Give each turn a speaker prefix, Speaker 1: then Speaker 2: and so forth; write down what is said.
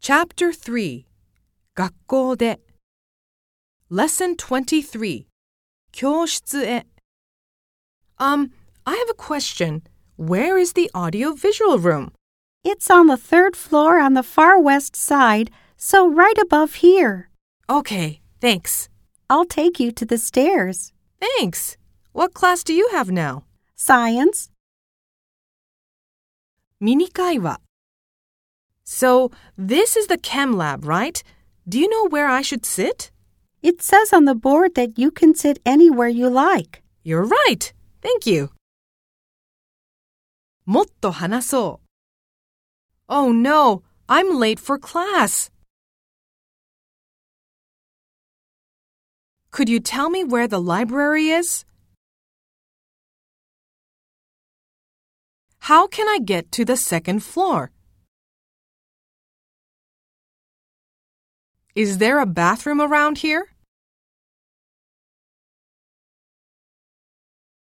Speaker 1: Chapter 3学校で Lesson 23教室へ I have a question. Where is the audio-visual room?
Speaker 2: It's on the third floor on the far west side, so right above here.
Speaker 1: Okay, thanks.
Speaker 2: I'll take you to the stairs.
Speaker 1: Thanks. What class do you have now?
Speaker 2: Science.
Speaker 1: ミニ会話 So, this is the chem lab, right? Do you know where I should sit?
Speaker 2: It says on the board that you can sit anywhere you like.
Speaker 1: You're right. Thank you. もっと話そう Oh no, I'm late for class. Could you tell me where the library is? How can I get to the second floor? Is there a bathroom around here?